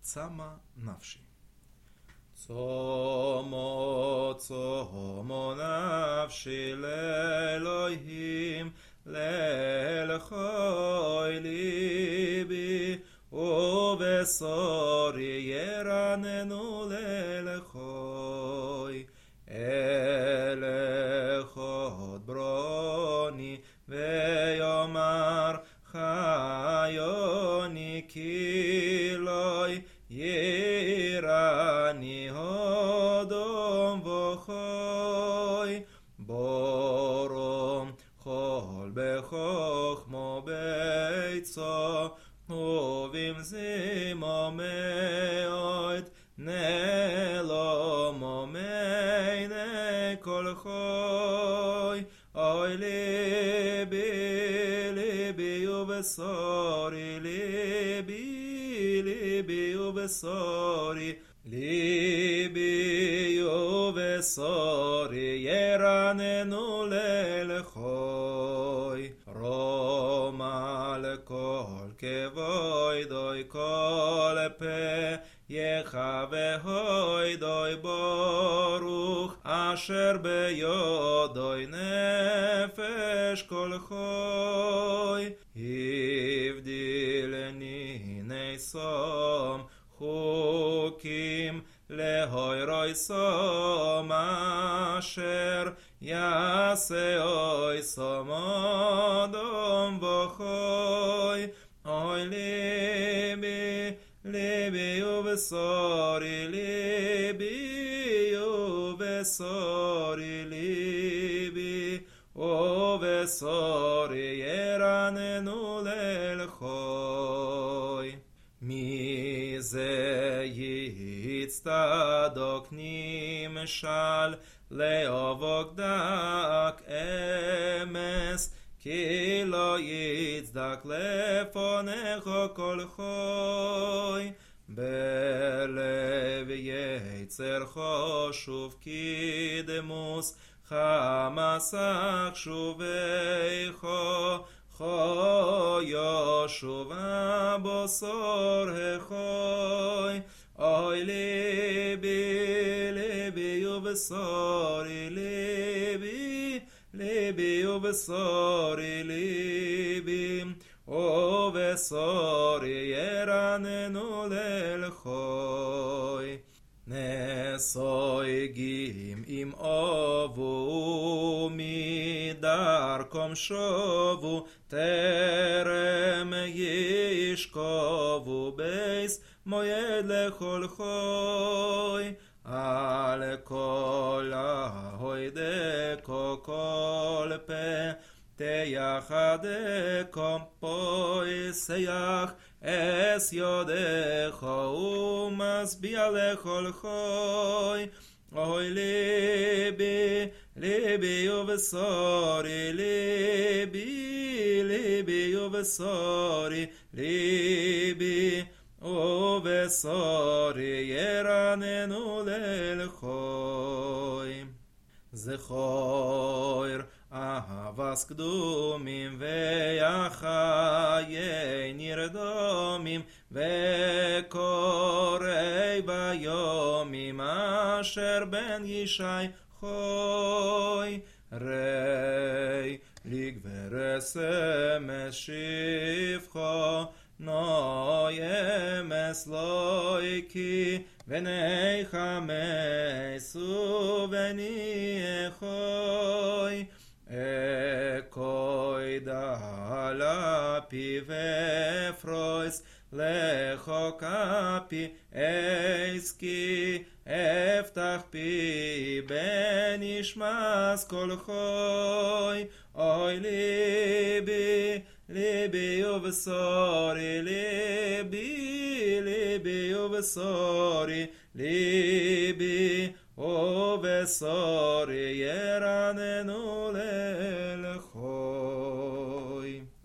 צמא נפשי. צומו צומו נפשי לאלוהים, לאלוהי ליבי, ובשורי ירננו לאלוהי. אלוהות ברוני ויאמר חיוני כילוי, ירני הודום וחוי. בורום חול בחוכמו ביצו, ובמזימו מאוד, נלומו מיני כל חוי. אוי ליבי ליבי ובשורי, ליבי ליבי ובשורי, ליבי ובשורי ירננו לאלוהי. רומא לכל כבוידוי כל פה, יחווה ברוך אשר ביודוי נפש כל חוי. הבדילני נסום חוקים להוירוי סום, אשר יעשה אוי סום אדום וחוי. אוי ליבי ליבי ובשורי, ליבי ובשורי, ליבי ובשורי ירננו לאלוהי. מי זה יצטדוק נמשל לאבוק דק אמס, כי לא יצדק לפונך כל חוי. בלב יצר חשוב כדמוס, חמסך שוביכו, חו ישוב הבשור החוי. אוי ליבי ליבי ובשורי, ליבי ליבי ובשורי, ליבי ובשורי ירננו לאלוהי. נסויגים אם אובו מדרכם שובו, טרם ישכבו בייס מועד לכל חוי. על כל ההוידקו כל פה, תייחדקו פויסייח אס יודך ומשביע לכל חוי. אוי ליבי ליבי ובשורי, ליבי ליבי ובשורי, ליבי ובשורי ירננו לאלוהי. זכור אהבס קדומים ויחיי נרדומים, וקוראי ביומים אשר בן ישי חוי. ראי לגבר סמס שפחו, נוימס לויקי, ונחמס ובניחוי. אקוי דלפי ופרויס, לכו כפי אסקי, אפתח פי בנשמס כל חוי. אוי ליבי ליבי ובשורי, ליבי ליבי ובשורי, ליבי ובשורי ירננו